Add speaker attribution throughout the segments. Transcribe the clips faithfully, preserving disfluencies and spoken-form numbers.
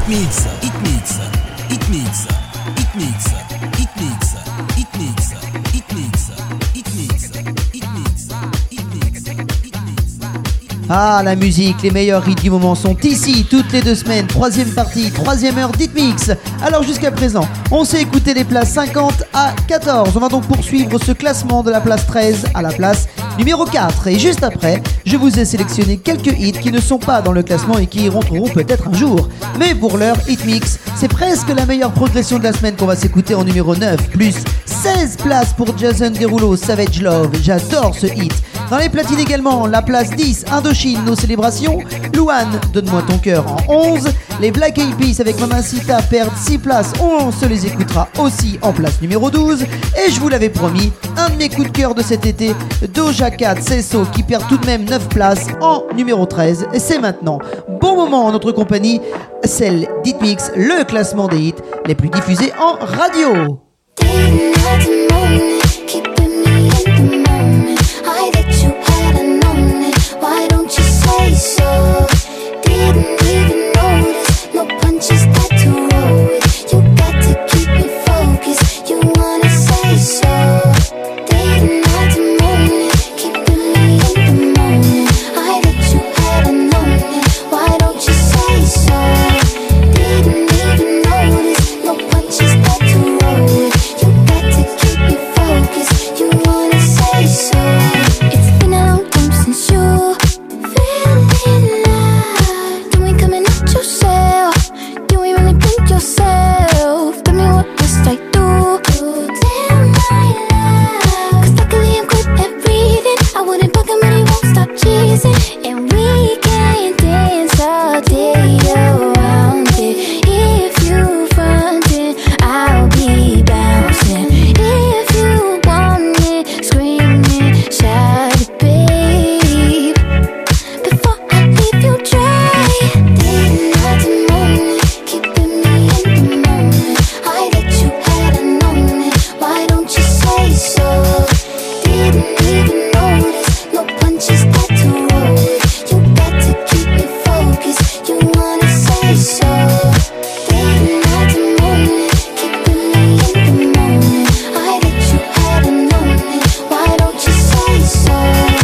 Speaker 1: Hitmix, Hitmix, Hitmix, Hitmix, Hitmix, Hitmix, Hitmix, Hitmix, Hitmix, Hitmix.
Speaker 2: Ah, la musique, les meilleurs hits du moment sont ici, toutes les deux semaines, troisième partie, troisième heure d'Hitmix. Alors jusqu'à présent, on s'est écouté les places cinquante à quatorze. On va donc poursuivre ce classement de la place treize à la place numéro quatre. Et juste après, je vous ai sélectionné quelques hits qui ne sont pas dans le classement et qui y rentreront peut-être un jour. Mais pour l'heure, Hitmix, c'est presque la meilleure progression de la semaine qu'on va s'écouter en numéro neuf, plus seize places pour Jason Derulo, Savage Love. J'adore ce hit. Dans les platines également, la place dix, Indochine, Nos Célébrations. Louane, Donne-moi ton cœur en onze. Les Black Eyed Peas avec Mamacita perdent six places. On se les écoutera aussi en place numéro douze. Et je vous l'avais promis, un de mes coups de cœur de cet été, Doja Cat, Sesso, qui perd tout de même neuf places en numéro treize. Et c'est maintenant. Bon moment en notre compagnie, celle d'Hitmix, le classement des hits les plus diffusés en radio.
Speaker 3: Why don't you say so? Didn't even notice. No punches got to roll with. You got to keep me focused. You wanna say so? Didn't have to moan it. Keeping me in the moment. I bet you hadn't known it. Why don't you say so? Didn't even notice. No punches got to roll with. You got to keep me focused. You wanna say so? It's been a long time since you yourself. Tell me what must I do to tell my love? Cause luckily I'm quick at reading. I wouldn't bug him but he won't stop cheesing. And we can dance all day around it. If you front it, I'll be bouncing. If you want it, scream it, shout it, babe. Before I leave you dry, didn't have to moan it. Keeping me in the moment. I bet you hadn't known it. Why don't you say so? Didn't even notice. No punches got to roll with. You got to keep me focused. You wanna say so? Didn't have to moan it. Keeping me in the moment. I bet you hadn't known it. Why don't you say so?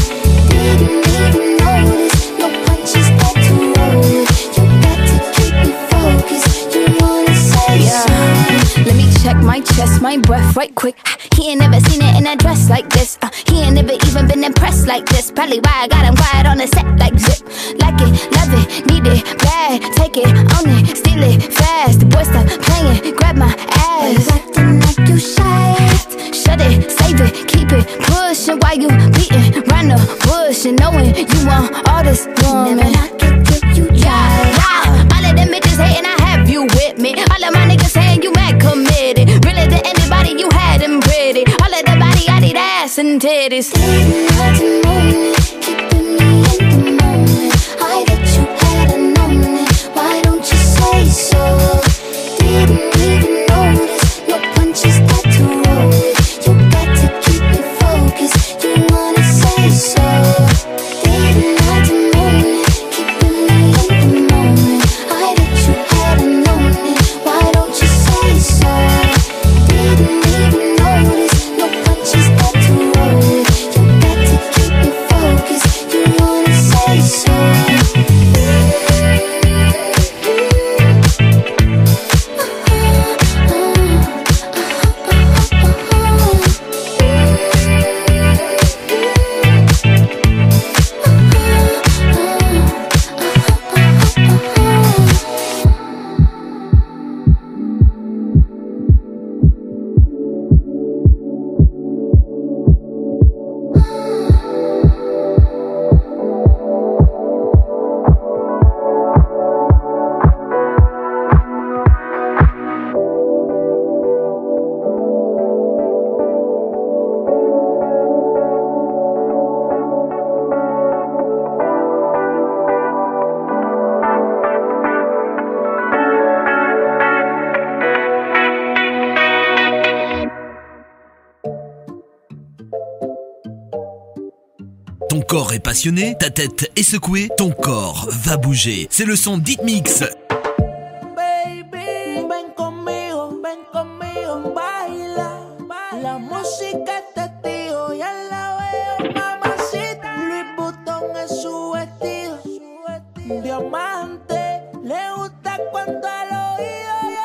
Speaker 3: Didn't even notice. No punches got to roll with. You got to keep me focused. You wanna say
Speaker 4: Yeah.
Speaker 3: so?
Speaker 4: Let me check my chest, my breath right quick. He ain't never seen it in a dress like this. Uh, he ain't never even been impressed like this. Probably why I got him quiet on the set like zip. Like it, love it, need it, bad. Take it, own it, steal it, fast. The boy stop playing, grab my ass.
Speaker 3: Acting like you shy.
Speaker 4: Shut it, save it, keep it pushing while you beating round the bush and knowing you want all this woman.
Speaker 3: Never knock it till you
Speaker 4: Yeah,
Speaker 3: try.
Speaker 4: yeah. All of them bitches hating, I have you with me. All of my niggas saying you mad committed. Really to anybody, you had them pretty. All of the body, I need ass and titties.
Speaker 3: Didn't have to moan it. Keeping me in the moment. I bet you hadn't known it. Why don't you say so? Didn't even notice. No punches got to roll with. You got to keep me focused. You wanna say so? Didn't have to moan it. Keeping me in the moment. I bet you hadn't known it. Why don't you say so? Didn't even notice. No punches got to roll with. You got to keep me focused. You wanna say so?
Speaker 1: Ton corps est passionné, ta tête est secouée, ton corps va bouger. C'est le son d'Hitmix.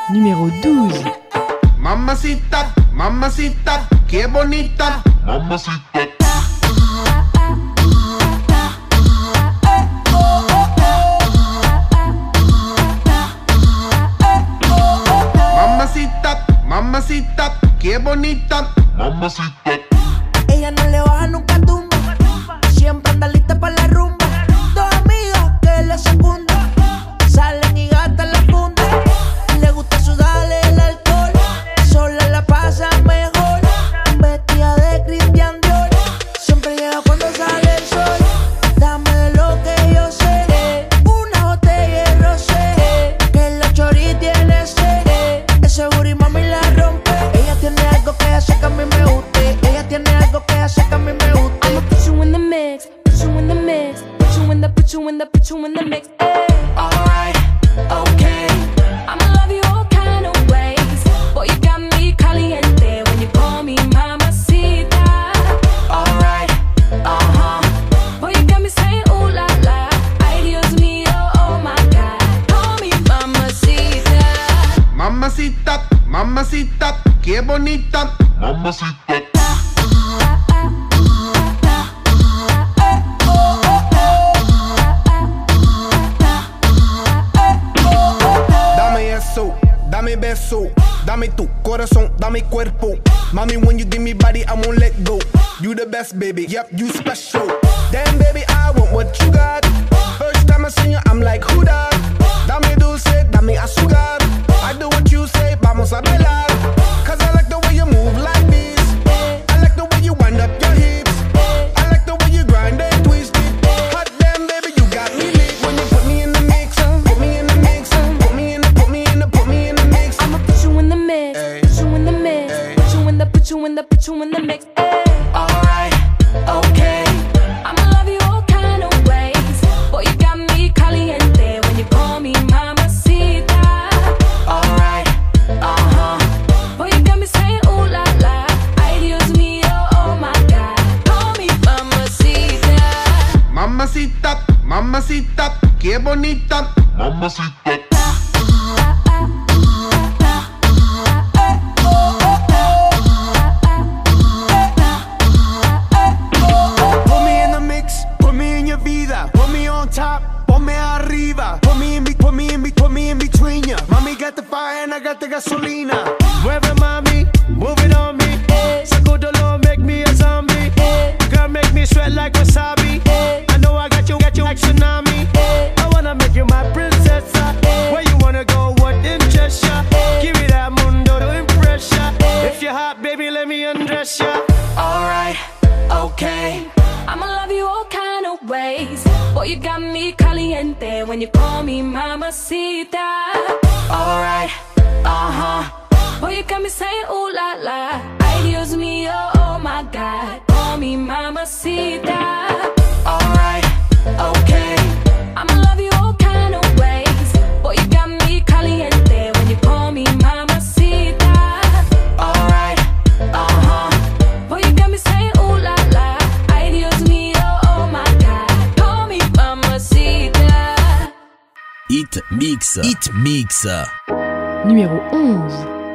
Speaker 5: Numéro douze.
Speaker 6: Mamacita, mamacita, qué bonita. Mamacita. Mamacita, mamacita, qué bonita. Mamacita.
Speaker 7: Ella no le baja nunca tumba, siempre anda lista para la rumba. Dos amigas que le secundan, salen y gastan la funda. Le gusta sudarle el alcohol, sola la pasa mejor. Vestida de Christian Dior, siempre llega cuando sale el sol. Dame de lo que yo sé, una botella de rosé, que la chori tiene sed. Ese booty mami la rompe. Ella tiene algo que hace que a mí me guste. Ella tiene algo que hace que a mí me guste.
Speaker 5: I'ma put you in the mix, put you in the mix, put you in the, put you in the, put you in the mix. Ay.
Speaker 7: Alright, okay.
Speaker 5: I'ma love you all kind of ways. Boy, you got me caliente when you call me mamacita.
Speaker 7: Alright, uh-huh.
Speaker 5: Boy, you got me saying ooh la la. Ay, Dios mío, oh my God. Call me mamacita.
Speaker 6: Mamacita, mamacita, qué bonita. Mamacita. Dame eso, dame beso, dame tu corazón, dame cuerpo. Mommy, when you give me body, I won't let go. You the best, baby, yep, you special. Damn, baby, I want what you got. First time I see you, I'm like, who that? Dame dulce, dame azúcar. I do what you say, vamos a bailar. Cause I like the way you move like this. I like the way you wind up your hips. I like the way you grind and twist it. Hot damn, baby, you got me lit. When you put me in the mix, put me in the mix, put me in the, put me in the, put me in the mix.
Speaker 5: I'ma put you in the mix,
Speaker 6: Ay.
Speaker 5: put you in the mix,
Speaker 6: Ay.
Speaker 5: put you in the, put you in the, put you in the mix. Ay.
Speaker 7: Alright, okay.
Speaker 5: I'ma love you all kind of ways. Boy, you got me caliente when you call me mamacita.
Speaker 7: Alright, uh-huh.
Speaker 5: Boy, you got me saying ooh la la. Ay, Dios mío, oh my God. Call me mamacita.
Speaker 6: Mamacita, mamacita, qué bonita. Mamacita. Put me in the mix, put me in your vida. Put me on top, ponme arriba. Put me in, be, put me in, be, put me in between ya. Mommy got the fire and I got the gasolina. Mueve mami, move it on me. Sacudolo, make me a zombie. Girl, make me sweat like wasabi. I know I got you, got you like tsunami. I wanna make you my princess. Where you wanna go, what interests ya? Give me that mundo to impress ya. If you're hot, baby, let me undress ya.
Speaker 7: Alright, okay.
Speaker 5: I'ma love you all kind of ways. Boy, you got me caliente when you call me mamacita.
Speaker 7: Alright, uh-huh.
Speaker 5: Boy, you got me saying ooh la la. Ay, Dios mío, oh my God. Call me mamacita.
Speaker 7: Alright, okay.
Speaker 5: I'ma love you all kind of ways. Boy, you got me caliente when you call me mamacita.
Speaker 7: Alright, uh-huh.
Speaker 5: Boy, you got me saying ooh la la. Ay, Dios mío, oh my God. Call me mamacita.
Speaker 1: Hit Mix. Hit Mix.
Speaker 5: Numéro onze.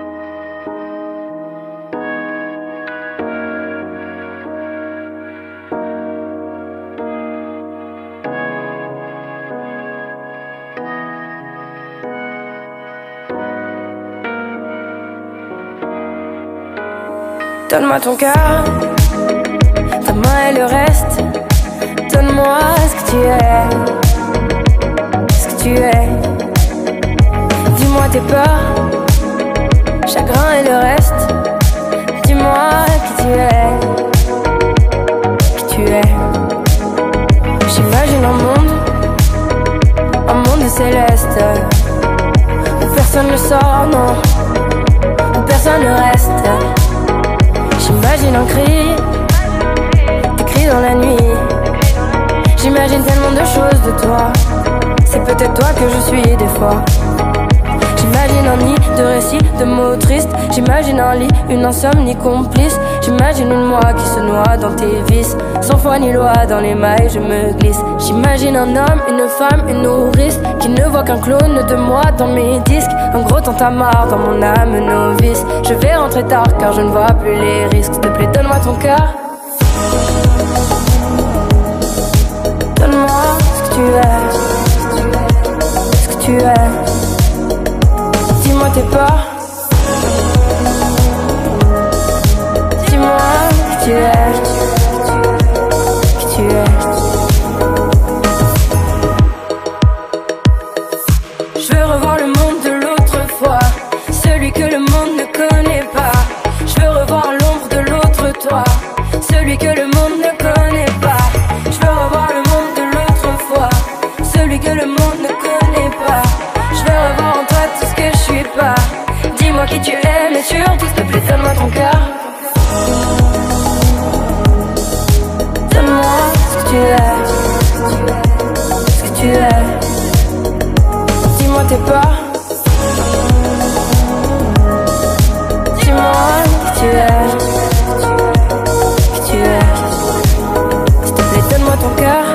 Speaker 8: Donne-moi ton cœur, ta main et le reste. Donne-moi ce que tu es, ce que tu es. Dis-moi tes peurs, chagrin et le reste. Dis-moi qui tu es, qui tu es. J'imagine un monde, un monde céleste, où personne ne sort, non, où personne ne reste. J'imagine un cri, des cris dans la nuit. J'imagine tellement de choses de toi. C'est peut-être toi que je suis des fois. J'imagine un nid de récits, de mots tristes. J'imagine un lit, une insomnie complice. J'imagine une moi qui se noie dans tes vices. Sans foi ni loi, dans les mailles je me glisse. J'imagine un homme, une femme, une nourrice qui ne voit qu'un clone de moi dans mes disques. Un gros tintamarre dans mon âme novice. Je vais rentrer tard car je ne vois plus les risques. S'il te plaît, donne-moi ton cœur. Donne-moi ce que tu es. Ce que tu es. Dis-moi tes peurs. Dis-moi qui tu es. Qui tu es. Je veux revoir le monde de l'autre fois, celui que le monde ne connaît pas. Je veux revoir l'ombre de l'autre toi, celui que le monde ne connaît pas. Je veux revoir le monde de l'autre fois, celui que le monde ne connaît pas. Je veux revoir en toi tout ce que je suis pas. Dis-moi qui tu es, mais surtout s'il te plaît donne-moi ton cœur. Donne-moi ce que tu es. Ce que tu es. Dis-moi tes peurs. Dis-moi qui tu es. Qui tu es. S'il te plaît donne-moi ton cœur.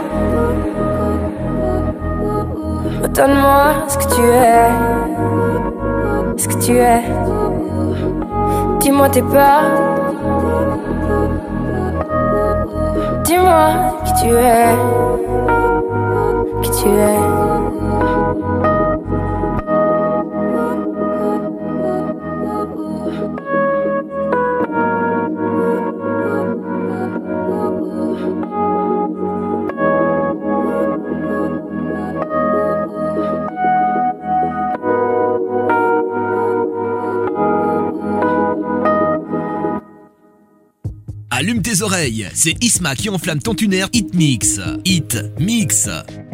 Speaker 8: Donne-moi ce que tu es. Ce que tu es. Dis-moi tes peurs. Dis-moi qui tu es. Qui tu es.
Speaker 1: Allume tes oreilles, c'est Isma qui enflamme ton tuner Hit Mix. Hit Mix.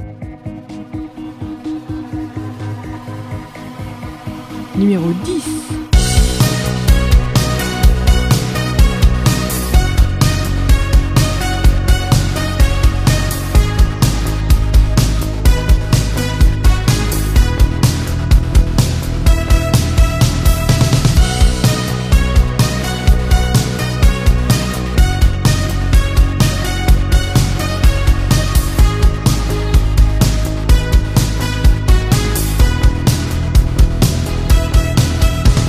Speaker 9: Numéro dix.
Speaker 3: Thank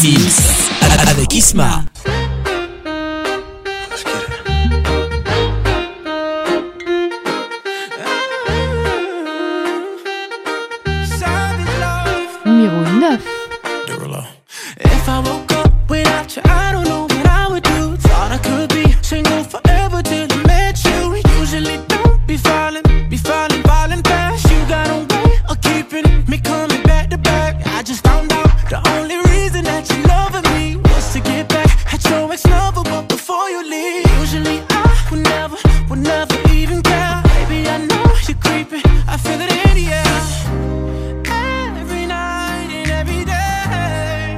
Speaker 1: Hitmix avec Isma.
Speaker 9: Numéro neuf.
Speaker 7: If I woke up without you, I don't know what I would do. Thought I could be single forever till I met you. Usually don't be falling, be falling, falling fast. You got a way of keeping me coming back to back. I just found out the only reason that you loving me was to get back at your ex-lover, but before you leave, usually I would never, would never even care. Baby, I know you're creeping, I feel it in the air. Every night and every day,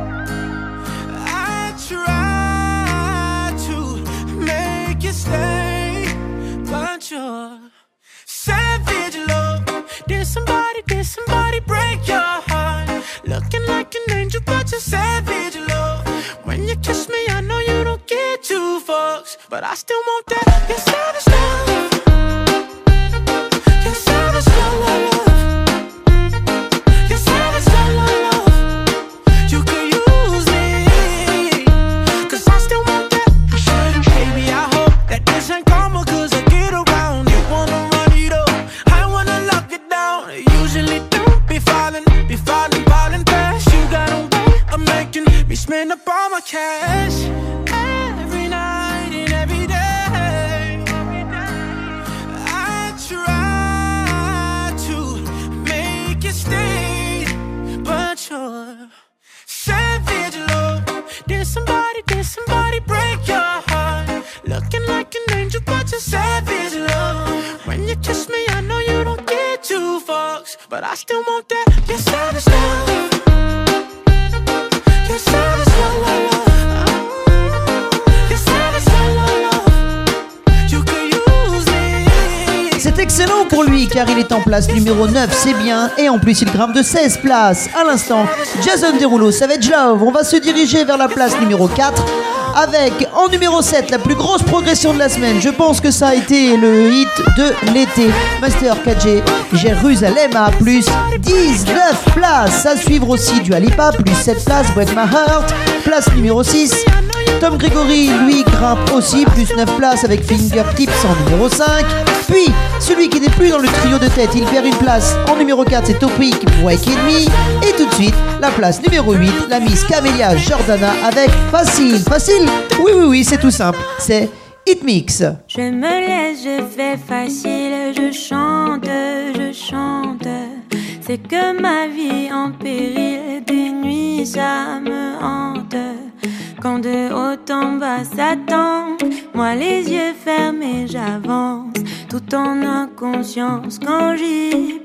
Speaker 7: I try to make you stay, but you're savage love. Did somebody, did somebody break your heart? Looking like an angel, but you're savage love. When you kiss me, I know you don't get two fucks, but I still want that. You're savage love. You're savage love, love, love. You're savage love, love, love. You could use me, cause I still want that. Baby, I hope that this ain't karma, cause I get around. You wanna run it up, I wanna lock it down. Usually don't be falling, be falling, falling fast. You got a way of making me spend up all my cash. Every night and every day, I try to make you stay, but you're savage love. Did somebody, did somebody break your heart? Looking like an angel, but you're savage love. When you kiss me, I know you don't get two fucks, but I still want that. You're savage love. You're savage love, love, love. You're savage love, love, love. You could use me.
Speaker 2: C'est excellent pour lui car il est en place numéro neuf, c'est bien. Et en plus il grimpe de seize places. À l'instant, Jason Derulo, Savage Love. On va se diriger vers la place numéro quatre avec en numéro sept la plus grosse progression de la semaine. Je pense que ça a été le hit de l'été. Master K J, Jérusalem à plus dix-neuf places. À suivre aussi Dua Lipa, plus sept places. Break My Heart, place numéro six. Tom Gregory, lui, grimpe aussi, plus neuf places avec Fingertips en numéro cinq. Puis, celui qui n'est plus dans le trio de tête, il perd une place. En numéro quatre, c'est Topic, Wake Me. Et tout de suite, la place numéro huit, la Miss Camélia Jordana avec Facile. Facile? Oui, oui, oui, c'est tout simple. C'est Hitmix.
Speaker 10: Je me laisse, je fais facile, je chante, je chante. C'est que ma vie en péril, des nuits ça me hante. Quand de haut en bas s'attend, moi les yeux fermés j'avance, tout en inconscience quand j'y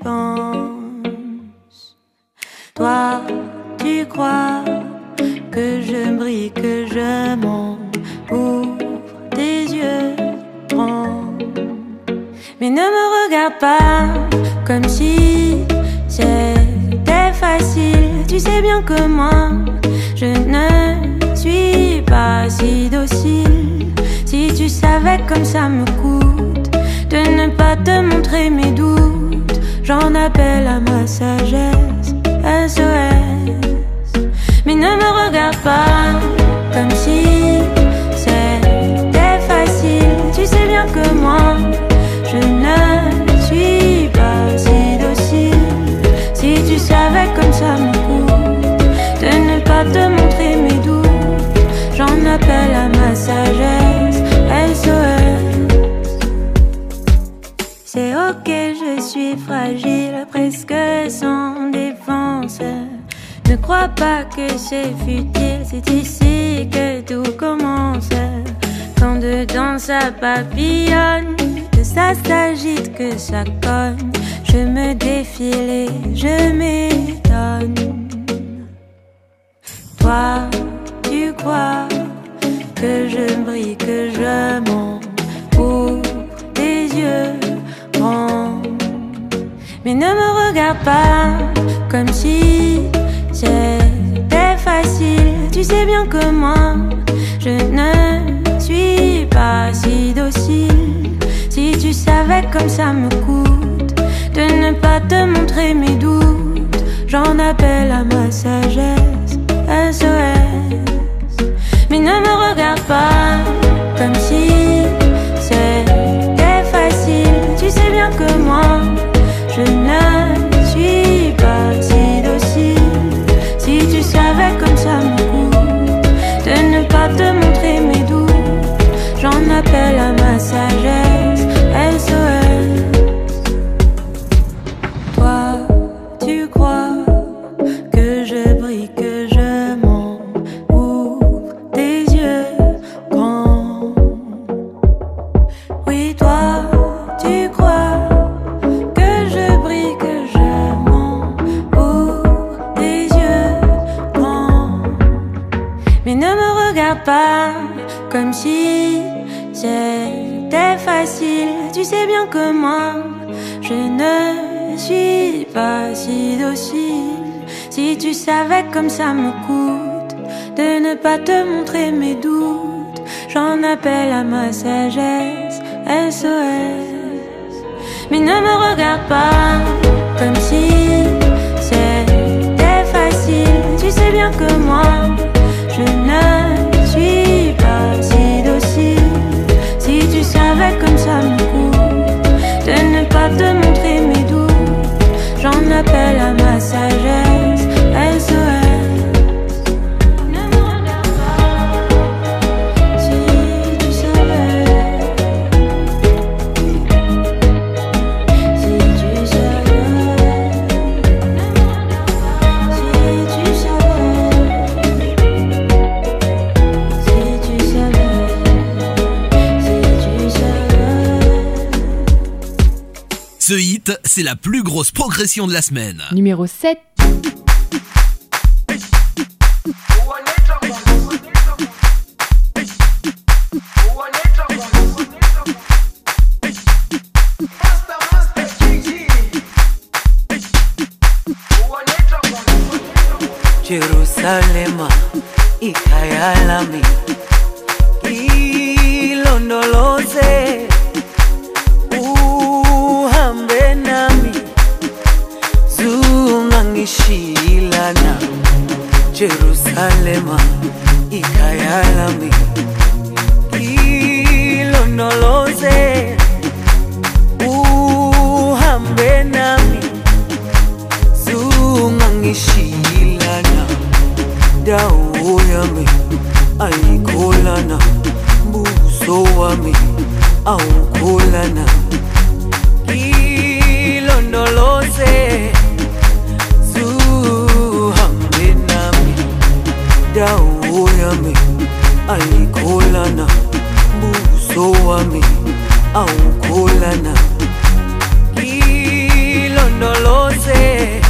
Speaker 10: pense. Toi, tu crois que je brille, que je monte pour tes yeux grands. Mais ne me regarde pas comme si c'était facile. Tu sais bien que moi, je ne suis pas si docile. Si tu savais comme ça me coûte de ne pas te montrer mes doutes, j'en appelle à ma sagesse, S O S. Mais ne me regarde pas comme si c'était facile. Tu sais bien que moi, je ne suis pas si docile. Si tu savais comme ça me coûte de ne pas te montrer mes doutes, j'en appelle à ma sagesse, S O S. C'est ok, je suis fragile, presque sans défense. Ne crois pas que c'est futile, c'est ici que tout commence. Quand dedans ça papillonne, que ça s'agite, que ça cogne, je me défile et je m'étonne. Toi, tu crois que je brille, que je monte pour tes yeux grands. Mais ne me regarde pas comme si c'était facile. Tu sais bien que moi, je ne suis pas si docile. Si tu savais comme ça me coûte de ne pas te montrer mes doutes, j'en appelle à ma sagesse, S O S. Mais ne me regarde pas comme si c'était facile. Tu sais bien que moi, je ne suis pas si docile. Si tu savais comme ça me coûte de ne pas te montrer mes doutes, j'en appelle à ma sagesse. S O S. Toi, tu crois que je brille, que je mens. Ouvre tes yeux grands. Oui, toi, tu crois que je brille, que je mens. Ouvre tes yeux grands. Mais ne me regarde pas comme si c'était facile. Tu sais bien que moi, je ne suis pas si docile. Si tu savais comme ça me coûte de ne pas te montrer mes doutes, j'en appelle à ma sagesse. S O S. Mais ne me regarde pas comme si c'était facile. Tu sais bien que moi, je ne suis pas si docile. Si tu savais comme ça me coûte de ne pas te montrer mes doutes, j'en appelle à ma sagesse. S O S. Ne me regarde pas. Si tu savais, si tu savais, si tu savais, si tu savais, si tu savais.
Speaker 1: Ce hit, c'est la plus grosse progression de la semaine.
Speaker 9: Numéro sept.
Speaker 11: Jerusalema ikhaya lami ilondoloze uhambe nami zungangishilana. Jerusalema ikhaya lami ilondoloze uhambe nami zungangishilana. Dawo yami ayikholana, buso wami awukholana. Ilondoloze zuhambe nami. Dawo yami ayikholana, buso wami awukholana. Ilondoloze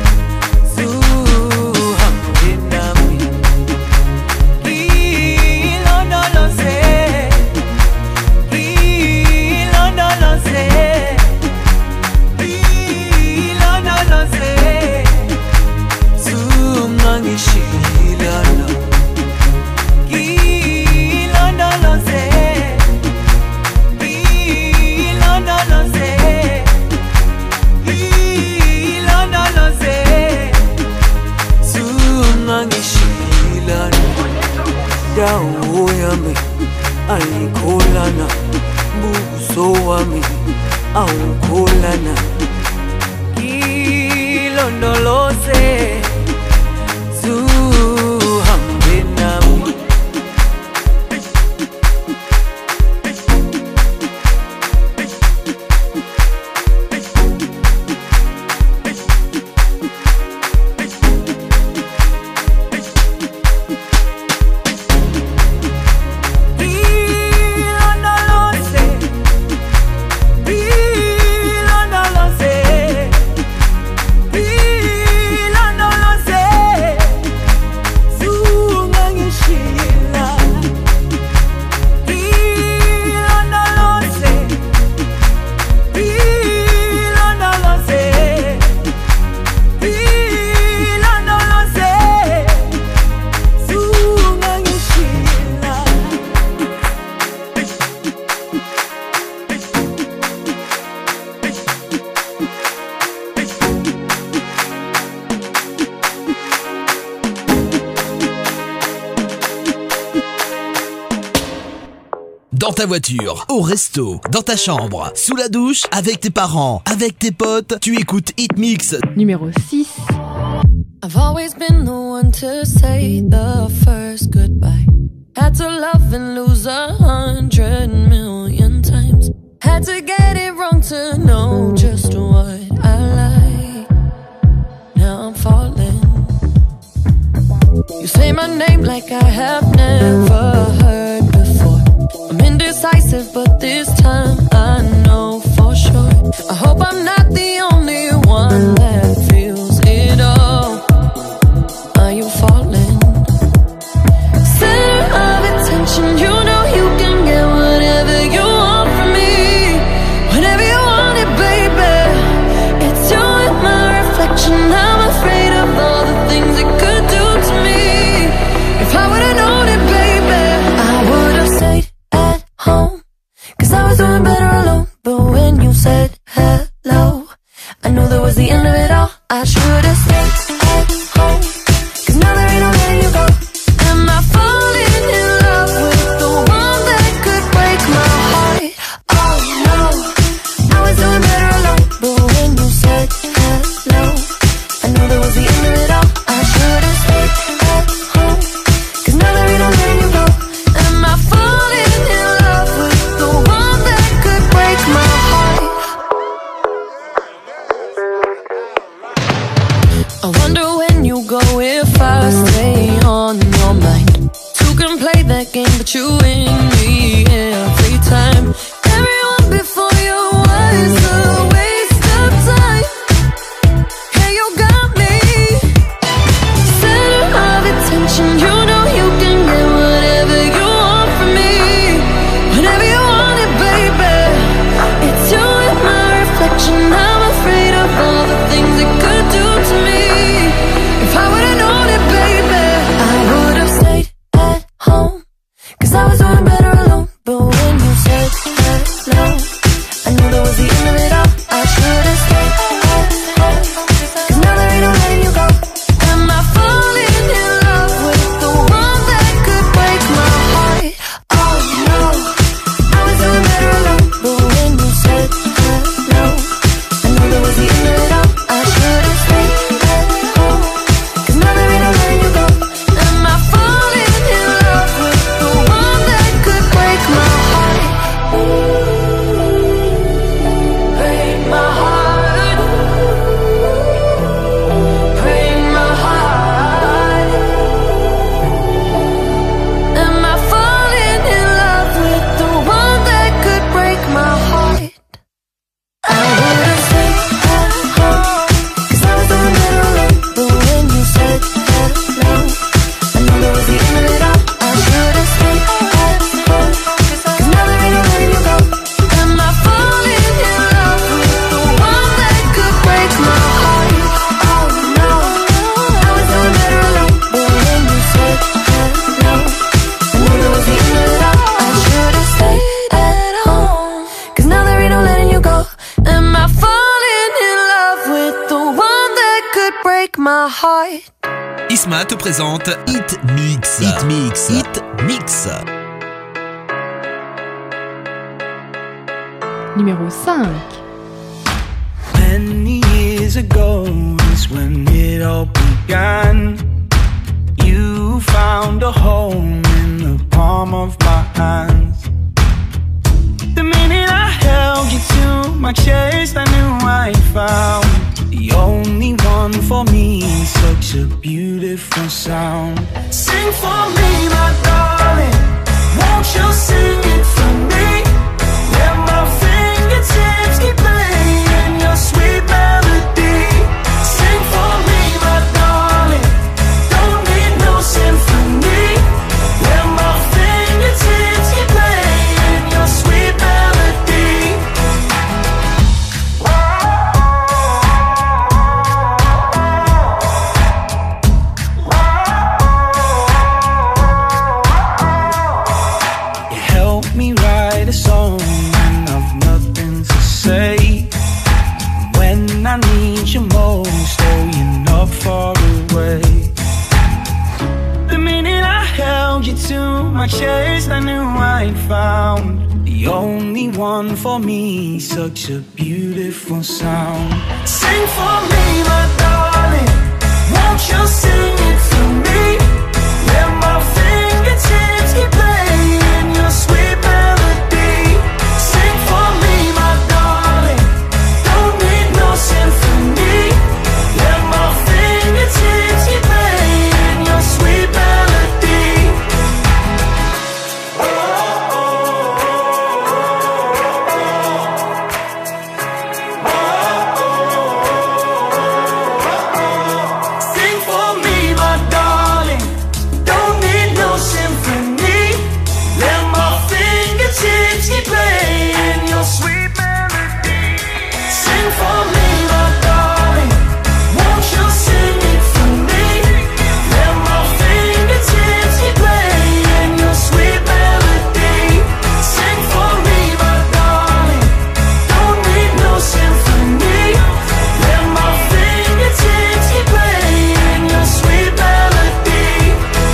Speaker 11: dawo yami ayikholana, buso wami awukholana. Ilondoloze zuhambe nami. Ilondoloze, Ilondoloze,
Speaker 1: dans ta voiture, au resto, dans ta chambre, sous la douche, avec tes parents, avec tes potes, tu écoutes Hit Mix.
Speaker 9: Numéro six.
Speaker 5: I've always been the one to say the first goodbye. Had to love and lose a hundred million times. Had to get it wrong to know just what I like. Now I'm falling. You say my name like I have never heard before. I'm indecisive, but this time I know for sure. I hope I'm not the only one that feels it all. Are you falling? Center of attention, you know you can get whatever you want from me. Whenever you want it, baby. It's you and my reflection. I'm afraid of all the things it could do to me. If I would've known it, baby, I would've stayed at home. Cause I was doing better alone. But when you said hello, I knew that was the end of it all. I should've stayed at home. Cause now there ain't no letting you go. Am I falling in love with the one that could break my heart? Oh no, I was doing better alone. But when you said hello, I knew that was the end of it all. I should've stayed at home. Cause now there ain't no letting you go. Am I falling in love with the one that could break my heart? I wonder when you go if I stay on your mind. Two can play that game, but you win me every time. Everyone before you was a waste of time. Hey, you got me. Center of attention, you know you can get whatever you want from me. Whenever you want it, baby. It's you and my reflection. I'm afraid of all the things it could do to me. If I would've known it, baby, I would've stayed at home. Cause I was doing better alone. But when you said hello, I knew that was the end of it all. I should've stayed at home. Cause now there ain't no letting you go. Am I falling in love with the one that could break my heart? Oh no, I was doing better alone. But when you said hello, I knew that was the end of it all. I should've stayed at home. Cause now there ain't no letting you go. Am I falling in love with the one that could break my heart? Break my heart. Break my heart. Am I falling in love with the one that could break my heart? I would've stayed at home. Cause I was doing better alone. But when you said hello, I knew that was the end of it all. I should've stayed at home. Cause now there ain't no letting you go. Am I falling in love with the one that could break my heart? Oh no, I was doing better alone. But when you said hello, I knew that was the end of it all. I should've stayed at home. Cause now there ain't no letting you go. Am I falling in love with the one that could break my heart?
Speaker 1: Isma te présente Hit Mix. Hit Mix. Hit Mix.
Speaker 9: Numéro cinq.
Speaker 11: Many years ago is when it all began. You found a home in the palm of my hands. The minute I held you to my chest, I knew I'd found the only one for me. Such a beautiful sound. Sing for me, my darling. Won't you sing it for me? Let my fingertips keep playing your sweet melody. Sing for me, my darling. Don't need no symphony. Let my fingertips keep playing your sweet melody. You help me write a song when I've nothing to say. When I need you most, oh, you're not far away. The minute I held hold you to my chest, I knew I'd found the only one for me. Such a beautiful sound. Sing for me, my darling, won't you sing it for me? Let my fingertips keep playing your sweet melody. Sing for me, my darling, don't need no symphony. Let my fingertips keep playing your sweet melody. Oh, oh, oh, oh. Sing for me, my darling, don't need no symphony. Let my fingertips keep playing your sweet melody. Sing for me, my darling, won't you sing it for me? Let my fingertips keep playing your sweet melody. Sing for me, my darling, don't need no symphony. Let my fingertips keep playing your sweet melody.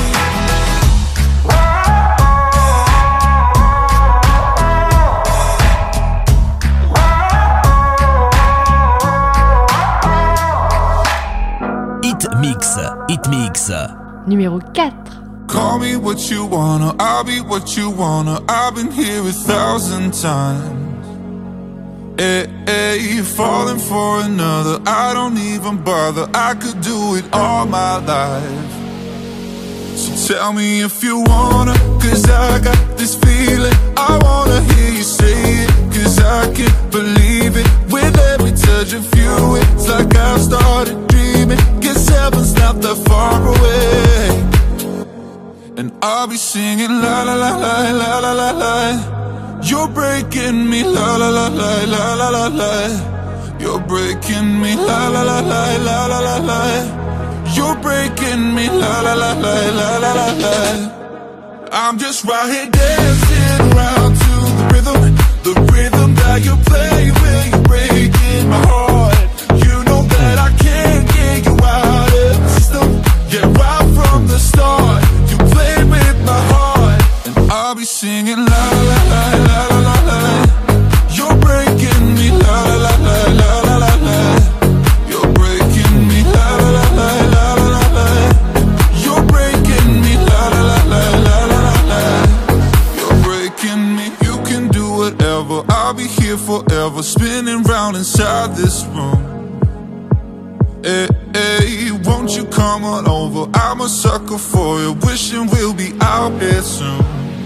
Speaker 1: Hit Mix, Hit Mix.
Speaker 9: Numéro quatre.
Speaker 12: Call me what you wanna, I'll be what you wanna. I've been here a thousand times. Hey, hey, falling for another, I don't even bother. I could do it all my life. So tell me if you wanna, cause I got this feeling. I wanna hear you say it, cause I can't believe it. With every touch of you, it's like I've started dreaming. Guess heaven's not that far away. And I'll be singing la la la la la la la la. You're breaking me la la la la la la la la. You're breaking me la la la la la la la la. You're breaking me la la la la la la la la. I'm just right here dancing around to the rhythm, the rhythm that you play when you're breaking my heart. You know that I can't get you out of the system. Yeah, right from the start, you played with my heart. And I'll be singing la la la la la la la. You're breaking me la la la la la la la. You're breaking me la la la la la la la. You're breaking me la la la la la la la. You're breaking me. You can do whatever, I'll be here forever, spinning round inside this room. Hey, hey, won't you come on over? I'm a sucker for you, wishing we'll be out here soon.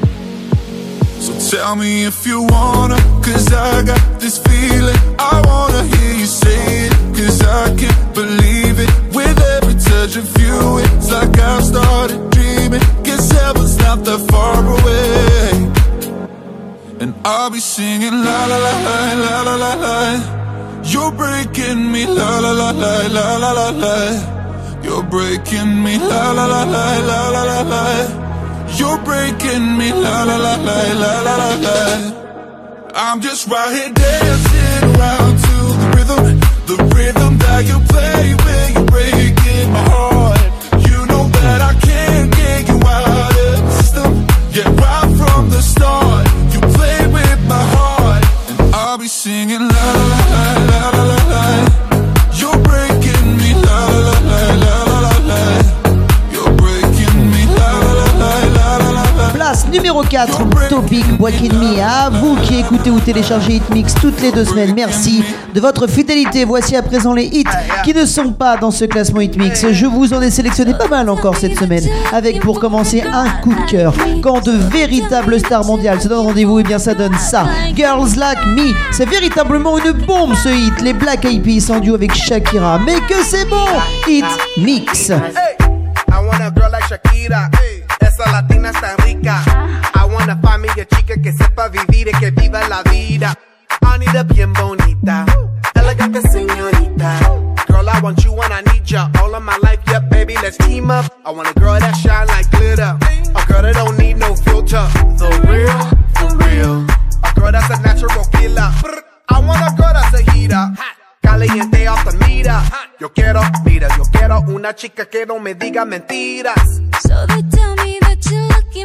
Speaker 12: So tell me if you wanna, cause I got this feeling. I wanna hear you say it, cause I can't believe it. With every touch of you, it's like I've started dreaming. Guess heaven's not that far away. And I'll be singing la la la la la la la la. You're breaking me la la la la la la la la. You're breaking me la la la la la la la la. You're breaking me la la la la la la la la. I'm just right here dancing around to the rhythm, the rhythm that you play when you're breaking my heart. You know that I can't get you out of the system. Yeah, right from the start, you played with my heart. And I'll be singing la la la la la la la. You're breaking me la la la la la la la. You're breaking me la la la la la la la.
Speaker 2: Place numéro quatre, Topic Breaking Me. À vous qui écoutez ou téléchargez Hitmix toutes les deux semaines, merci de votre fidélité. Voici à présent les hits qui ne sont pas dans ce classement Hitmix. Je vous en ai sélectionné pas mal encore cette semaine, avec pour commencer un coup de cœur. Quand de véritables stars mondiales se donnent rendez-vous, et bien ça donne ça. Girls Like Me, c'est véritablement une bombe ce hit. Les Black Eyed Peas en duo avec Shakira, mais que c'est bon. Hitmix.
Speaker 6: Hey, I want a girl like Shakira. Hey, esa latina está rica. I want a find me a chica que sepa vivir y que viva la vida. I need a bien bonita, elegante señorita. Girl, I want you and I need ya all of my life. Yep, baby, let's team up. I want a girl that shine like glitter, a girl that don't need no filter. The real, for real. A girl that's a natural killer. I want a girl that's a heater, caliente off the meter. Yo quiero, mira, yo quiero una chica que no me diga mentiras.
Speaker 3: So they tell me that you're looking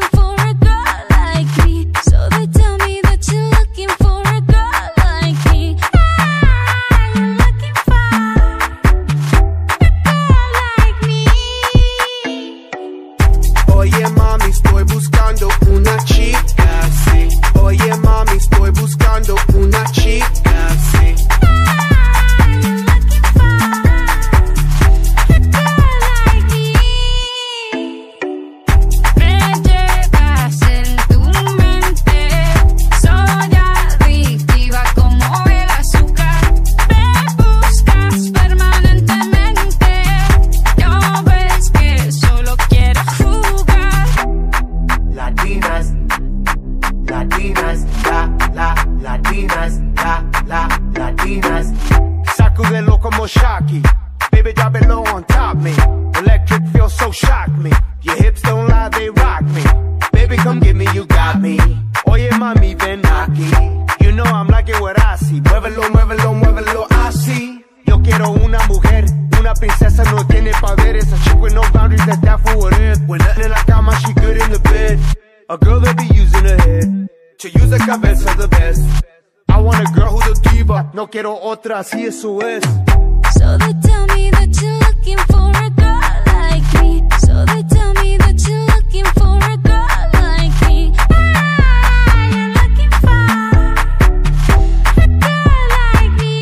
Speaker 6: Sacudelo como Shocky. Baby, drop it low on top me. Electric feels so shock me. Your hips don't lie, they rock me. Baby, come get me, you got me. Oye, mami, ven aquí. You know I'm like it what I see. Muévelo, muévelo, muévelo, así. Yo quiero una mujer, una princesa, no tiene poderes. A chick with no boundaries, that's that for what it is. When nothing in la cama, she good in the bed. A girl that be using her head to use the cabeza the best. I want a girl who's a diva. No quiero otra, así eso es.
Speaker 3: So they tell me that you're looking for a girl like me. So they tell me that you're looking for a girl like me. Ah, you're looking for a girl like me.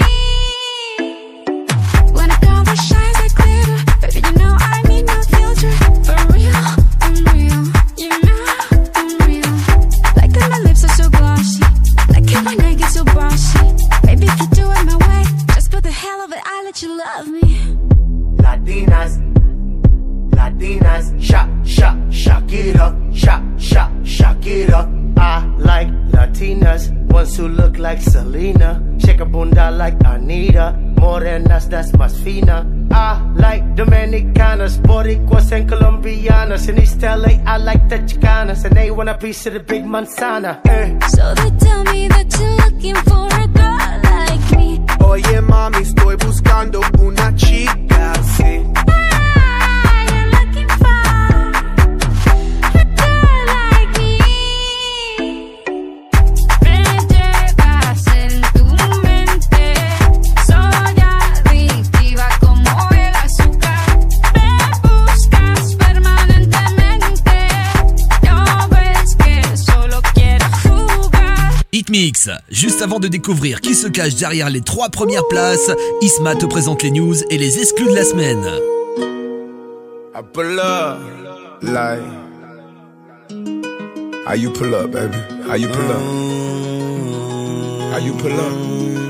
Speaker 3: When a girl that shines like glitter, baby, you know I need no filter. For real, I'm real. You know I'm real. Like that my lips are so glossy. Like that my neck is so bossy. Baby, if you do it my way, just for the hell of it, I'll let you love me.
Speaker 6: Latinas, Latinas, shock, shock, shock it up, shock, shock, shock it up. I like Latinas, ones who look like Selena, shake a bunda like Anita, morenas, that's más fina. I like Dominicanas, Boricuas and Colombianas. In East L A, I like the Chicanas, and they want a piece of the big manzana. Eh.
Speaker 3: So they tell me that you're looking for a girl like me.
Speaker 6: Oye mami, estoy buscando una chica así.
Speaker 3: Ah, you're looking for a girl like me. Me llevas en tu mente, soy adictiva como el azúcar. Me buscas permanentemente, no ves que solo quiero jugar.
Speaker 1: Hitmix, juste avant de découvrir qui se cache derrière les trois premières places, Isma te présente les news et les exclus de la semaine.
Speaker 12: I pull up, like how you pull up, baby? How you pull up? How you pull up?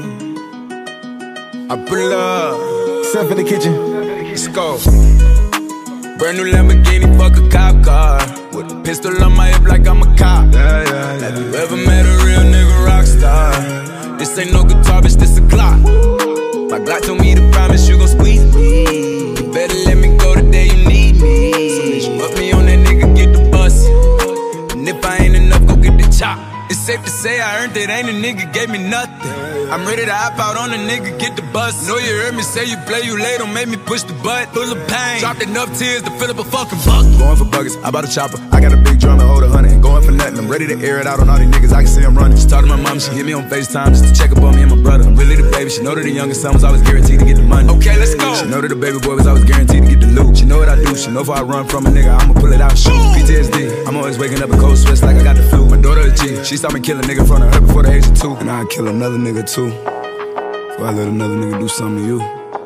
Speaker 12: I pull up. Step in the kitchen. Let's go. Brand new Lamborghini, fuck a cop car. With a pistol on my hip like I'm a cop. Yeah, yeah, yeah. Have you ever met a real nigga rock star? This ain't no guitar, bitch, this a clock. My Glock told me to promise you gon' squeeze me. You better let me go the day you need me. So bitch, put me on that nigga, get the bus. And if I ain't enough, go get the chop. It's safe to say I earned it, ain't a nigga gave me nothing. I'm ready to hop out on a nigga, get the bus. Know you heard me say you play, you late, don't make me push the butt. Full of pain, dropped enough tears to fill up a fucking bucket. Going for buggers, I bought a chopper. I got a big drum and hold a hundred. Ain't going for nothing, I'm ready to air it out on all these niggas, I can see I'm running. She talked to my mom, she hit me on FaceTime just to check up on me and my brother. I'm really the baby, she know that the youngest son was always guaranteed to get the money. Okay, let's go. She know that the baby boy was always guaranteed to get the loot. She know what I do, she know if I run from a nigga, I'ma pull it out, shoot. P T S D, I'm always waking up in cold sweats like I got the flu. My daughter a G, she saw me kill a nigga in front of her before the age of two. And I'd kill another nigga too, before I let another nigga do something to you.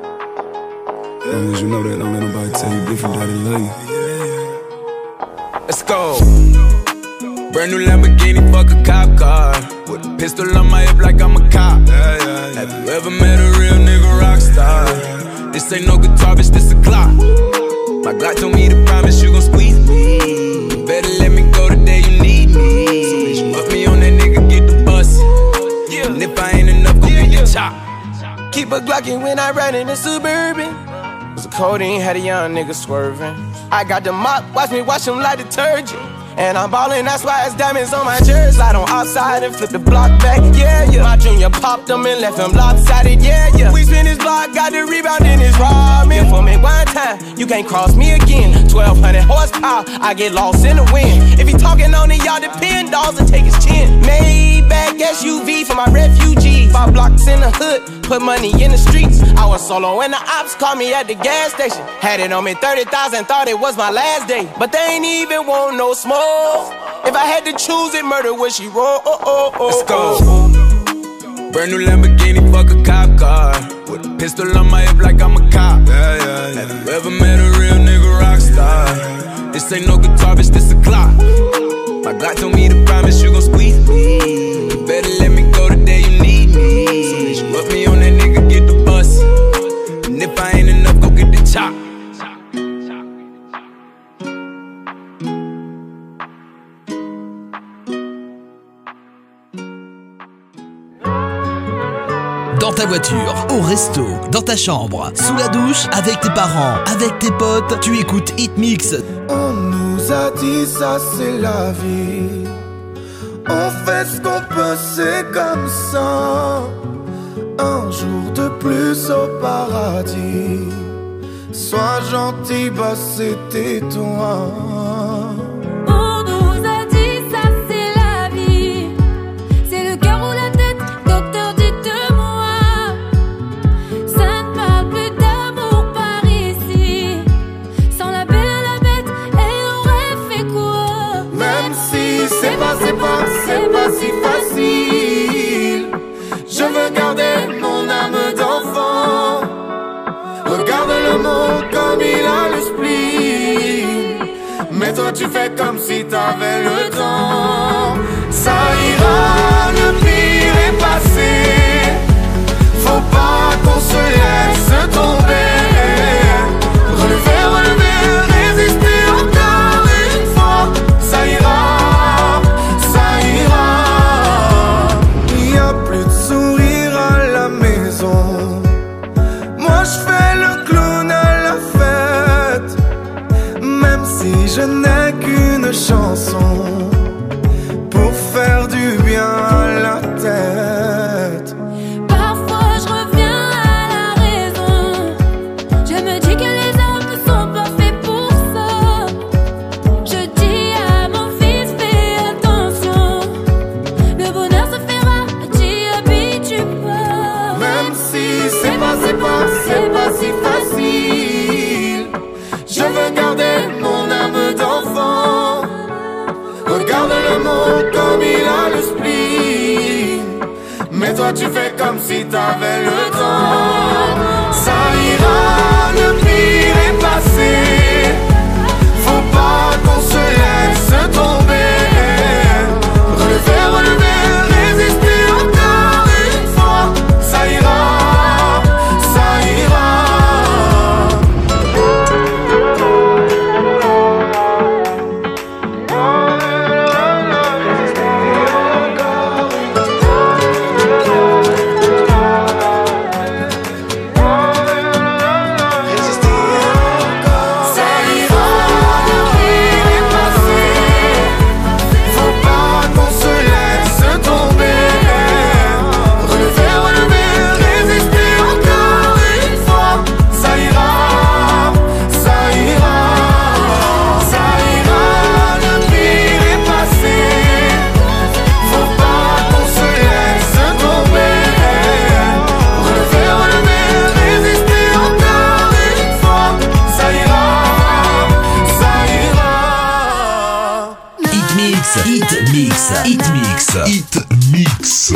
Speaker 12: As long as you know that, don't let nobody tell you different, that they love you. Let's go. Brand new Lamborghini, fuck a cop car. With a pistol on my hip like I'm a cop. Yeah, yeah, yeah. Have you ever met a real nigga rock star? This ain't no guitar, bitch, this a clock. My Glock told me to promise you gon' squeeze me. You better let me go the day you need me. So bitch, put me on that nigga, get the bus. Yeah. And if I ain't enough, go get your chop.
Speaker 13: Keep a Glockin' when I ride in the Suburban. Cause the codeine had a young nigga swerving. I got the mop, watch me wash him like detergent. And I'm ballin', that's why it's diamonds on my jersey. Slide on outside and flip the block back, yeah, yeah. My junior popped him and left him lopsided, yeah, yeah. We spin his block, got the rebound in his ramen. For me one time, you can't cross me again. twelve hundred horsepower, I get lost in the wind. If he talking on it, y'all depend, dolls and take his chin. Maybach S U V for my refugees. Five blocks in the hood, put money in the streets. I was solo when the ops called me at the gas station. Had it on me thirty thousand, thought it was my last day. But they ain't even want no smoke. If I had to choose it, murder would she roll? Oh, oh, oh,
Speaker 12: let's go. Brand new Lamborghini, fuck a cop car. With a pistol on my hip like I'm a cop. Yeah, yeah, yeah. Have you ever met a real nigga rock star? This ain't no guitar, bitch, this a clock. My Glock told me to promise you gon' squeeze me. You better let me go the day you need me. So bitch, put me on that nigga, get the bus. And if I ain't enough, go get the chop.
Speaker 1: Dans ta voiture, voiture, au resto, dans ta chambre, sous la douche, avec tes parents, avec tes potes, tu écoutes Hit Mix.
Speaker 14: On nous a dit ça c'est la vie. On fait ce qu'on peut, c'est comme ça. Un jour de plus au paradis. Sois gentil, bah c'était toi.
Speaker 10: On nous a dit ça c'est la vie. C'est le cœur ou la tête, docteur dites-moi. Ça ne parle plus d'amour par ici. Sans la belle à la bête, elle aurait fait quoi?
Speaker 14: Même si c'est pas, c'est pas, c'est pas si facile. Je veux garder mon âme d'enfant. Regarde le monde comme il a le spleen. Mais toi tu fais comme si t'avais le temps. Ça ira, le pire est passé. Faut pas qu'on se laisse tomber. Relever, relever, résister encore une fois. Ça ira, ça ira. Il y a plus de sourire à la maison. Moi je fais le clown à la fête. Même si je n'ai qu'une chanson pour faire du bien à la tête.
Speaker 10: Parfois je reviens à la raison. Je me dis que les hommes ne sont pas faits pour ça. Je dis à mon fils fais attention. Le bonheur se fera, t'y habitues pas.
Speaker 14: Même si c'est pas, c'est pas, c'est pas si facile. Je veux garder mon âme d'enfant. Regarde le monde comme il a le spleen. Mais toi tu fais comme si t'avais le temps. Ça ira, le pire est passé. Faut pas qu'on se laisse tomber. Relever, relever, résister encore une fois. Ça ira, ça ira.
Speaker 1: Hit Mix, Hit Mix, Hit Mix.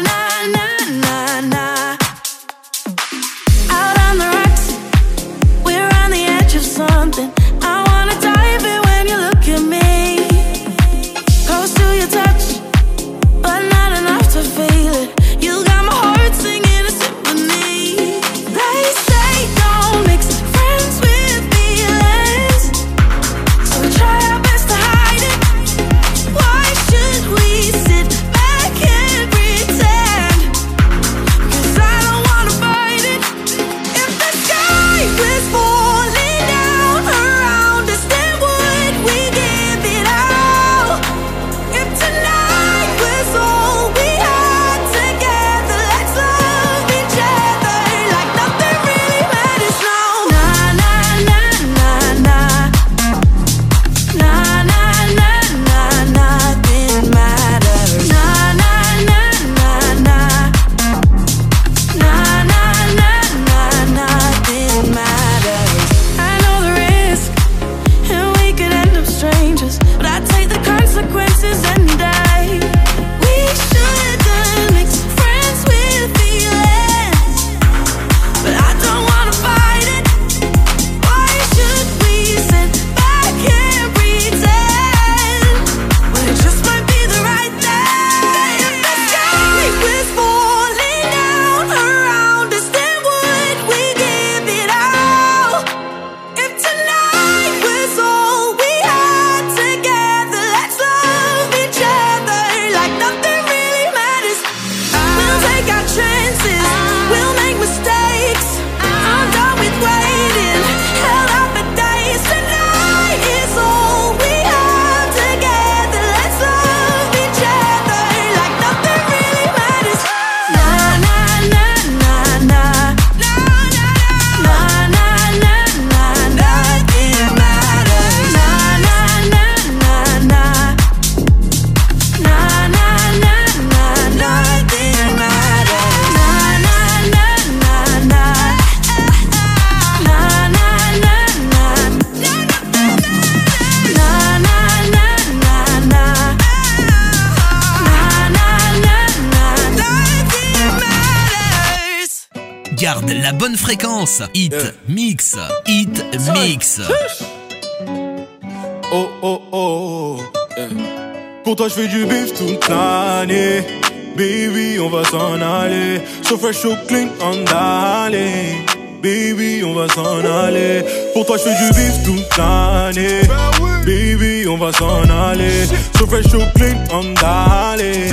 Speaker 5: Out on the rocks, we're on the edge of something. I wanna dive in when you look at me. Close to your touch, but not enough to feel it. You got my heart singing a symphony. They say don't mix friends with feelings, so we try our best to hide it. Why should we sit back
Speaker 1: Garde la bonne fréquence. Hit
Speaker 14: Yeah.
Speaker 1: Mix. Hit Mix.
Speaker 14: Oh oh oh, yeah. Pour toi je fais du bif toute l'année. Baby on va s'en aller. So fresh, so clean, on d'aller. Baby on va s'en aller. Pour toi je fais du bif toute l'année. Baby on va s'en aller. So fresh, so clean, on d'aller.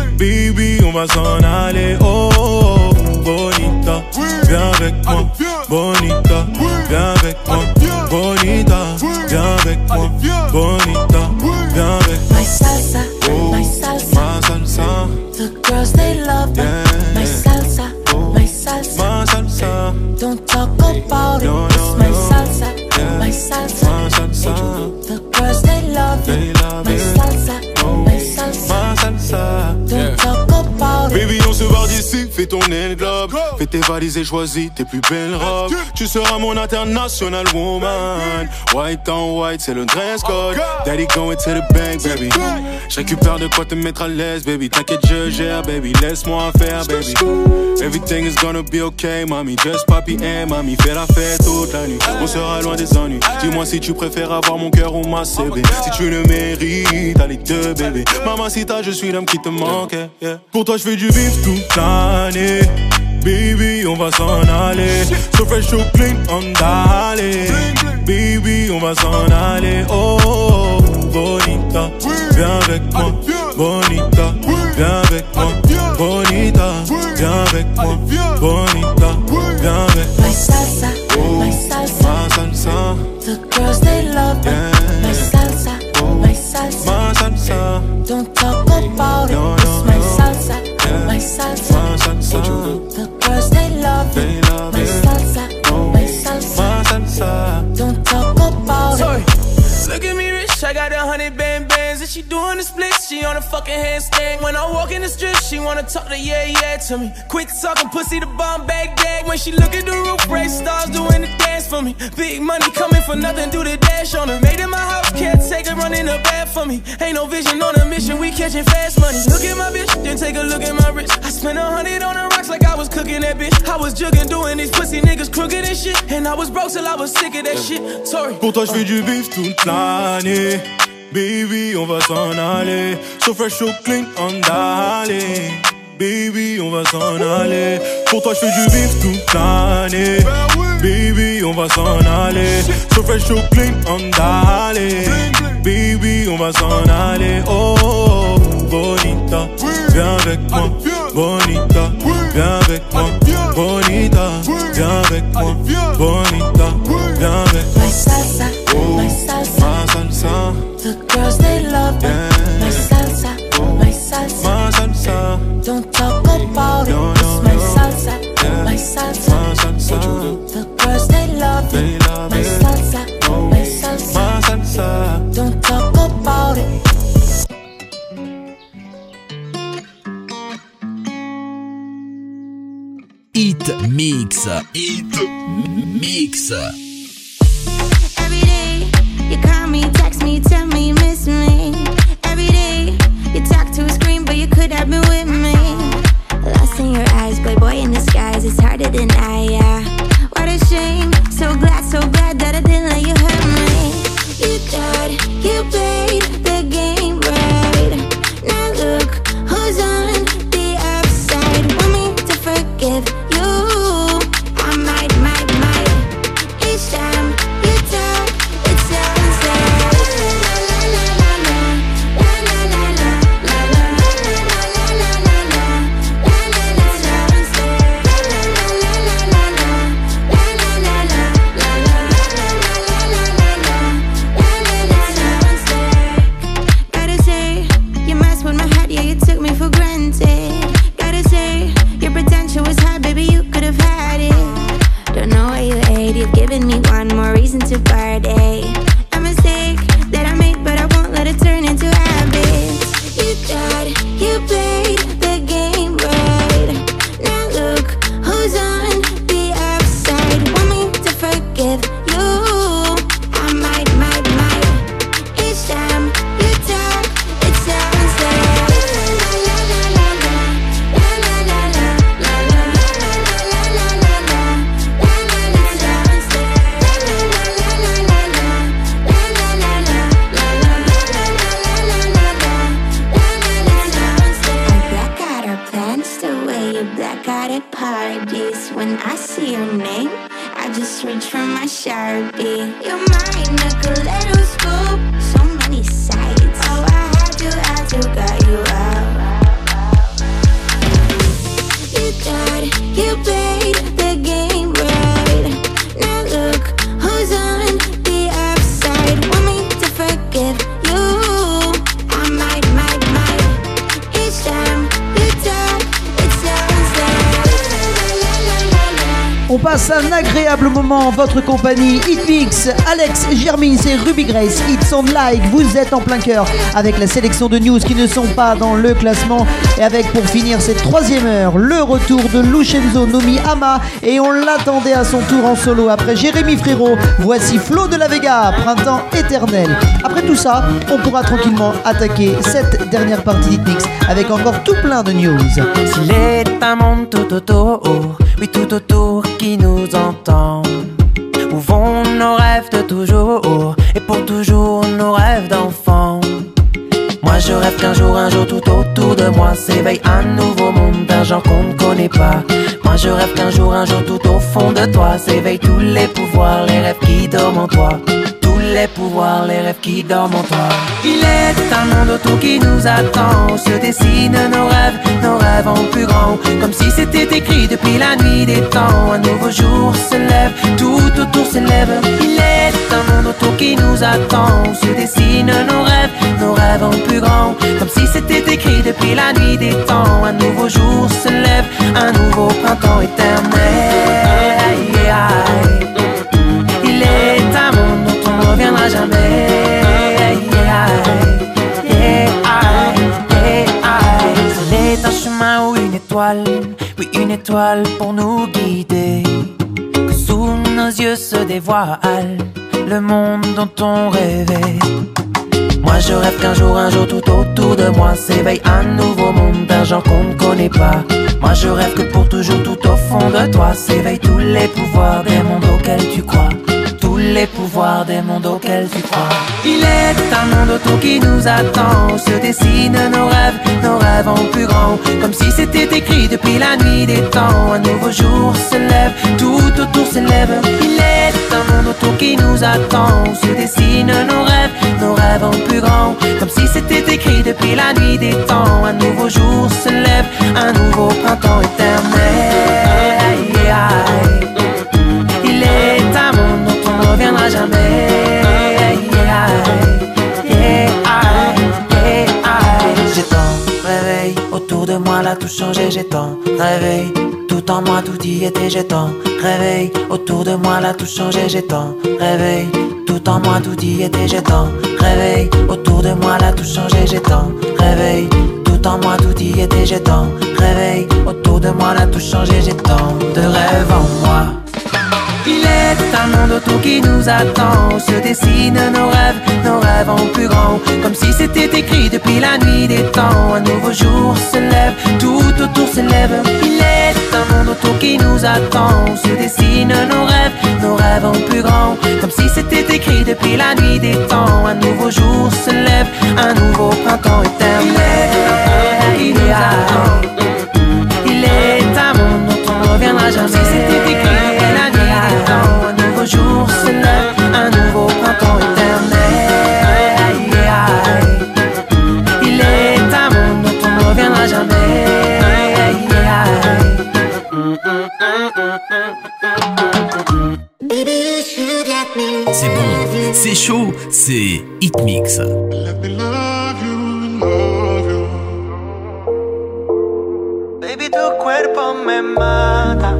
Speaker 14: Baby on va s'en aller. Oh, oh, oh bonita, viens avec moi. Bonita, viens avec moi. Bonita, viens avec moi. Bonita, viens avec moi.
Speaker 15: My salsa,
Speaker 14: oh,
Speaker 15: my salsa,
Speaker 14: my salsa.
Speaker 15: The girls they love that.
Speaker 14: Yeah.
Speaker 15: My salsa, oh, my salsa,
Speaker 14: my salsa.
Speaker 15: Don't talk about it.
Speaker 14: No, no,
Speaker 15: it's my
Speaker 14: no.
Speaker 15: salsa,
Speaker 14: Yeah.
Speaker 15: my salsa,
Speaker 14: my salsa.
Speaker 15: The girls they love
Speaker 14: They
Speaker 15: it.
Speaker 14: love
Speaker 15: my
Speaker 14: it.
Speaker 15: salsa,
Speaker 14: Oh,
Speaker 15: my salsa,
Speaker 14: my salsa.
Speaker 15: Don't
Speaker 14: Yeah.
Speaker 15: talk about it.
Speaker 14: Baby, on se barre d'ici, fais ton globe. Fais tes valises et choisis tes plus belles robes. Tu seras mon international woman. White on white, c'est le dress code. Daddy going to the bank, baby. Je récupère de quoi te mettre à l'aise, baby. T'inquiète, je gère, baby. Laisse-moi faire, baby. Everything is gonna be okay, mami. Just papi and mami. Fais la fête toute la nuit. On sera loin des ennuis. Dis-moi si tu préfères avoir mon cœur ou ma C B. Si tu le mérites, t'as les deux, bébé. Mamacita, je suis l'homme qui te manque. Yeah. Pour toi, je fais du bif toute l'année. Baby, on va s'en aller. So fresh, so clean, on d'aller. Baby, on va s'en aller. Oh, oh, oh, bonita, viens avec moi. Bonita, viens avec moi. Bonita, viens avec moi. Bonita, viens avec moi.
Speaker 15: My salsa,
Speaker 14: oh,
Speaker 15: my salsa,
Speaker 14: my salsa.
Speaker 15: The girls they love that.
Speaker 14: Yeah.
Speaker 15: My salsa,
Speaker 14: oh,
Speaker 15: my salsa,
Speaker 14: my salsa.
Speaker 15: Don't talk about it.
Speaker 14: No, no,
Speaker 15: it's my
Speaker 14: no.
Speaker 15: salsa,
Speaker 14: Yeah.
Speaker 15: my salsa,
Speaker 14: My salsa.
Speaker 15: The girls they love
Speaker 14: They
Speaker 15: it.
Speaker 14: love
Speaker 15: my
Speaker 14: it.
Speaker 15: salsa,
Speaker 14: Oh,
Speaker 15: my salsa,
Speaker 14: my salsa.
Speaker 15: Don't talk about
Speaker 13: Sorry.
Speaker 15: it.
Speaker 13: Look at me rich, I got a hundred band bands. And she doing the splits, she on a fucking handstand. When I walk in the strip, she wanna talk to yeah, yeah to me. Quit talking pussy, the bomb bag gag. When she look at the roof, race stars doing the dance for me. Big money coming for nothing, do the dash on her. Made in my house, can't take her running the bath for me. Ain't no vision on a mission, we catching fast money. Look at my bitch, then take a look at my wrist. I spent a hundred on the rocks like I was cooking that bitch. I was jugging, doing these pussy niggas crooked and shit. And I was broke till I was sick of that shit. Sorry.
Speaker 14: Pour toi, je fais du bif toute l'année. Baby, on va s'en aller. So fresh, so clean, on d'aller. Baby, on va s'en aller. Pour toi, je fais du bif toute l'année. Baby, on va s'en aller. So fresh, so clean, on d'aller. Baby, on va s'en aller. Oh, oh, oh, bonita, viens avec moi. Bonita, viens avec moi. Bonita, viens avec moi. Bonita, viens avec moi.
Speaker 15: My salsa,
Speaker 14: Oh,
Speaker 15: my salsa,
Speaker 14: my salsa.
Speaker 15: The girls they love that.
Speaker 14: Yeah.
Speaker 15: My salsa, my salsa,
Speaker 14: My salsa.
Speaker 15: Don't talk about it.
Speaker 14: No, no,
Speaker 15: it's my
Speaker 14: no.
Speaker 15: salsa,
Speaker 14: Yeah.
Speaker 15: my salsa,
Speaker 14: My salsa.
Speaker 15: The girls they love
Speaker 14: They
Speaker 15: it.
Speaker 14: love
Speaker 15: my
Speaker 14: it.
Speaker 15: salsa,
Speaker 14: Oh,
Speaker 15: my salsa,
Speaker 14: my salsa.
Speaker 15: Don't talk about it.
Speaker 1: Hit Mix. Hit Mix.
Speaker 10: Every day, you call me, text me, tell me you miss me. Every day, you talk to a screen, but you could have been with me. Lost in your eyes, boy, boy in disguise, it's harder than I, yeah. What a shame, so glad, so glad that I didn't let you hurt me. You thought you played the game right. Now look who's on the upside. Want me to forgive you? I might, might, might. Each time you talk, it sounds like la la la la la, la la la la, la la la la la la la la, la la la sounds like la la la la la la, la la la la, la la la la la own name. I just reach for my Sharpie. You're mine, like a little scoop. So many sides. Oh, I had to, had to got you out. You thought you played the game right. Now look who's on the upside. Want me to forgive you? I might, might, might. Each time you talk, it sounds like
Speaker 2: On passe un agréable moment en votre compagnie. Hitmix, Alex, Germine, c'est Ruby Grace. It's on like, vous êtes en plein cœur avec la sélection de news qui ne sont pas dans le classement. Et avec pour finir cette troisième heure, le retour de Lucenzo nommé Ama. Et on l'attendait à son tour en solo après Jérémy Frérot. Voici Flo de la Vega, Printemps éternel. Après tout ça, on pourra tranquillement attaquer cette dernière partie d'Hitmix avec encore tout plein de news.
Speaker 16: S'il est un monde tout autour, oui tout autour qui nous entend, où vont nos rêves de toujours et pour toujours nos rêves d'enfant. Moi je rêve qu'un jour, un jour tout autour de moi s'éveille un nouveau monde d'un genre qu'on ne connaît pas. Moi je rêve qu'un jour, un jour tout au fond de toi s'éveillent tous les pouvoirs, les rêves qui dorment en toi. Les pouvoirs, les rêves qui dorment en toi. Il est un monde autour qui nous attend, où se dessinent nos rêves, nos rêves en plus grand, comme si c'était écrit depuis la nuit des temps. Un nouveau jour se lève, tout autour s'élève. Il est un monde autour qui nous attend, où se dessinent nos rêves, nos rêves en plus grand, comme si c'était écrit depuis la nuit des temps. Un nouveau jour se lève, un nouveau printemps éternel. Aïe, aïe. Il est un monde dont on ne reviendra jamais. Yeah, yeah, yeah, c'est un chemin ou une étoile, oui une étoile pour nous guider, que sous nos yeux se dévoile le monde dont on rêvait. Moi je rêve qu'un jour, un jour tout autour de moi s'éveille un nouveau monde d'un genre qu'on ne connaît pas. Moi je rêve que pour toujours tout au fond de toi s'éveillent tous les pouvoirs des mondes auxquels tu crois. Tous les pouvoirs des mondes auxquels tu crois. Il est un monde autour qui nous attend, où se dessinent nos rêves, nos rêves en plus grand, comme si c'était écrit depuis la nuit des temps. Un nouveau jour se lève, tout autour s'élève. Il est un monde autour qui nous attend, où se dessinent nos rêves, nos rêves en plus grand, comme si c'était écrit depuis la nuit des temps. Un nouveau jour se lève, un nouveau printemps éternel. Aïe, aïe. Il est un monde dont on ne reviendra jamais. Yeah, yeah, yeah, j'ai tant rêvé, autour de moi là tout changé. J'ai tant rêvé, tout en moi tout y était. J'ai tant rêvé, autour de moi là tout changé. J'ai tant rêvé, tout en moi tout y était. J'ai tant rêvé, autour de moi là tout changé. J'ai tant rêvé, tout en moi tout y était. J'ai tant rêvé, autour de moi là tout changé. J'ai tant de rêves en moi. Il est un monde autour qui nous attend, où se dessinent nos rêves, nos rêves en plus grand, comme si c'était écrit depuis la nuit des temps. Un nouveau jour se lève, tout autour s'élève. Il est un monde autour qui nous attend, où se dessinent nos rêves, nos rêves en plus grand, comme si c'était écrit depuis la nuit des temps. Un nouveau jour se lève, un nouveau printemps éternel. Il est un, il est un monde dont on ne reviendra jamais. Si c'était écrit depuis la nuit des temps, un nouveau jour se lève, un nouveau printemps éternel. Aïe, aïe. Il est un monde dont on ne reviendra jamais. Aïe, aïe.
Speaker 1: C'est bon, c'est chaud, c'est Hitmix.
Speaker 16: Baby, tu cuerpo me mata.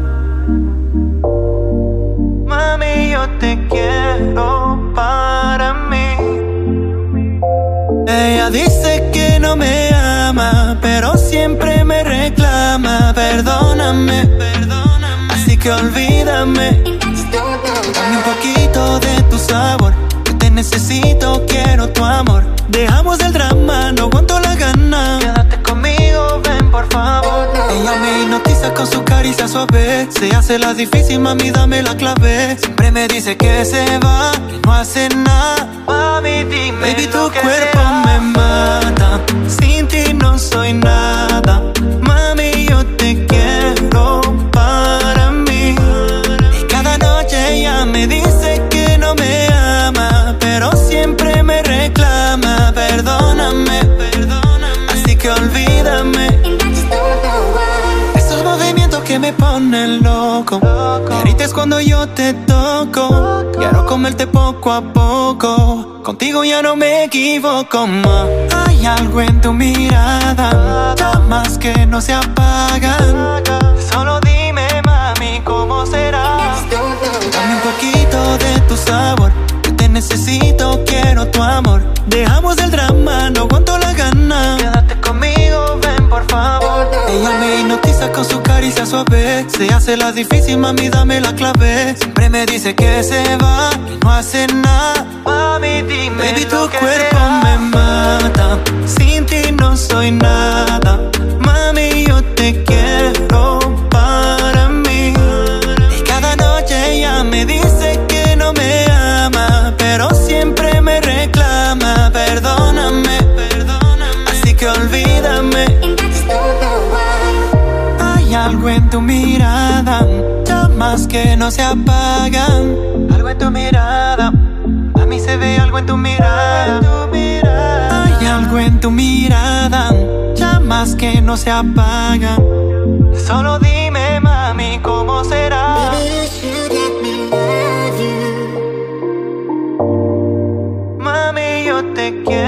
Speaker 16: Mami, yo te quiero para mí. Ella dice que no me ama, pero siempre me reclama. Perdóname, perdóname, así que olvídame. Dame un poquito de tu sabor, que te necesito, quiero tu amor. Dejamos el drama, no aguanto la gana. Quédate conmigo, ven por favor. Ella me hipnotiza con su caricia suave. Se hace la difícil, mami, dame la clave. Siempre me dice que se va, que no hace nada. Mami, dime, baby, tu cuerpo me mata. Sin ti no soy nada. Mami, yo te quiero para mí. loco. Me grites cuando yo te toco. Quiero comerte poco a poco. Contigo ya no me equivoco más. Hay algo en tu mirada, llamas que no se apagan. Solo dime, mami, ¿cómo será? Dame un poquito de tu sabor. Yo te necesito, quiero tu amor. Dejamos el drama, no aguanto la gana. Quédate conmigo, ven por favor. Ella me hipnotiza con su caricia suave. Se hace la difícil, mami, dame la clave. Siempre me dice que se va y no hace nada. Mami, dime, baby, tu cuerpo será. Me mata. Sin ti no soy nada. Mami, yo te quiero para mí. Y cada noche ella me dice que no me ama, pero siempre me reclama. Perdóname, perdóname. Así que olvídame. Hay algo en tu mirada, llamas que no se apagan. Algo en tu mirada, a mí se ve algo en tu mirada. Hay algo en tu mirada, llamas que no se apagan. Solo dime, mami, ¿cómo será? Mami, yo te quiero.